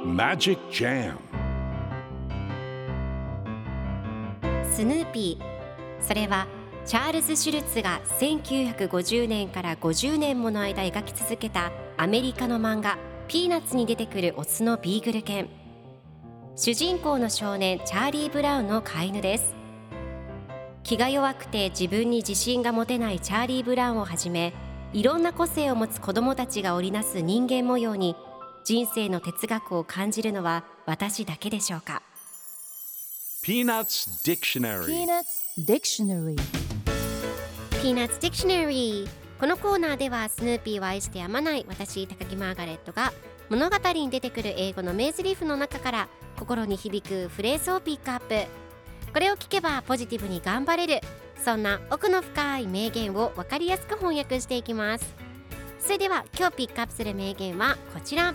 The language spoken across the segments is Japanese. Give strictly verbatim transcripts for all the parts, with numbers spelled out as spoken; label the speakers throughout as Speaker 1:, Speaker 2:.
Speaker 1: Magic Jam
Speaker 2: スヌーピー、それはチャールズ・シュルツがせんきゅうひゃくごじゅうねんからごじゅうねんもの間描き続けたアメリカの漫画ピーナッツに出てくるオスのビーグル犬。主人公の少年チャーリー・ブラウンの飼い犬です。気が弱くて自分に自信が持てないチャーリー・ブラウンをはじめ、いろんな個性を持つ子どもたちが織りなす人間模様に人生の哲学を感じるのは私だけでしょうか。
Speaker 1: Peanuts Dictionary
Speaker 3: Peanuts Dictionary
Speaker 2: Peanuts Dictionary。 このコーナーではスヌーピーを愛してやまない私高木マーガレットが物語に出てくる英語の名台詞の中から心に響くフレーズをピックアップ。これを聞けばポジティブに頑張れる、そんな奥の深い名言を分かりやすく翻訳していきます。それでは今日ピックアップする名言はこちら。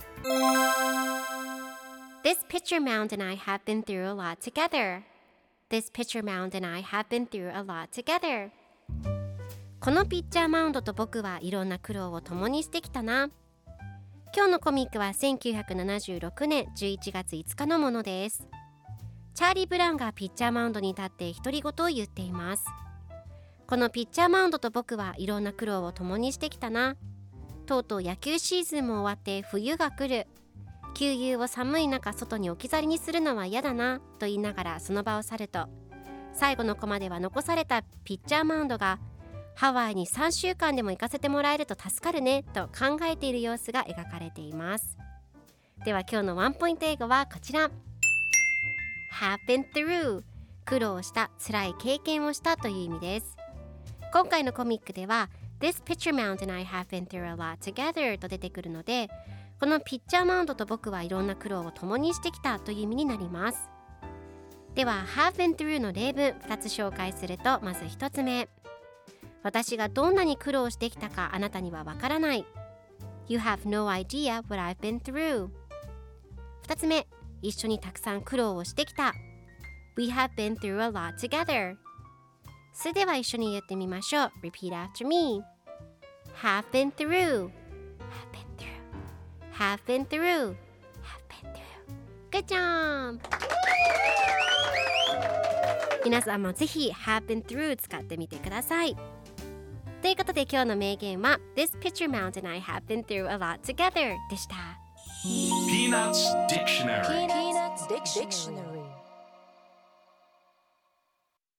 Speaker 2: This picture mound and I have been through a lot together. This picture mound and I have been through a lot together. このピッチャーマウンドと僕はいろんな苦労を共にしてきたな。今日のコミックはせんきゅうひゃくななじゅうろくねんじゅういちがついつかのものです。チャーリー・ブラウンがピッチャーマウンドに立って独り言を言っています。このピッチャーマウンドと僕はいろんな苦労を共にしてきたな。とうとう野球シーズンも終わって冬が来る。給油を寒い中外に置き去りにするのは嫌だなと言いながらその場を去ると、最後のコマでは残されたピッチャーマウンドがハワイにさんしゅうかんでも行かせてもらえると助かるねと考えている様子が描かれています。では今日のワンポイント英語はこちら。 have been through、 苦労した、辛い経験をしたという意味です。今回のコミックでは This picture mound and I have been through a lot together と出てくるので、このピッチャーマウンドと僕はいろんな苦労を共にしてきたという意味になります。では have been through の例文ふたつ紹介すると、まずひとつめ、私がどんなに苦労してきたかあなたにはわからない。 You have no idea what I've been through。 ふたつめ、一緒にたくさん苦労をしてきた。 We have been through a lot together。 それでは一緒に言ってみましょう。 Repeat after me。 Have been through Have been through Have been through Have been through Good job。 皆さんもぜひ Have been through 使ってみてください。ということで今日の名言は This picture mound and I have been through a lot together でした。
Speaker 1: Peanuts Dictionary
Speaker 3: Peanuts Dictionary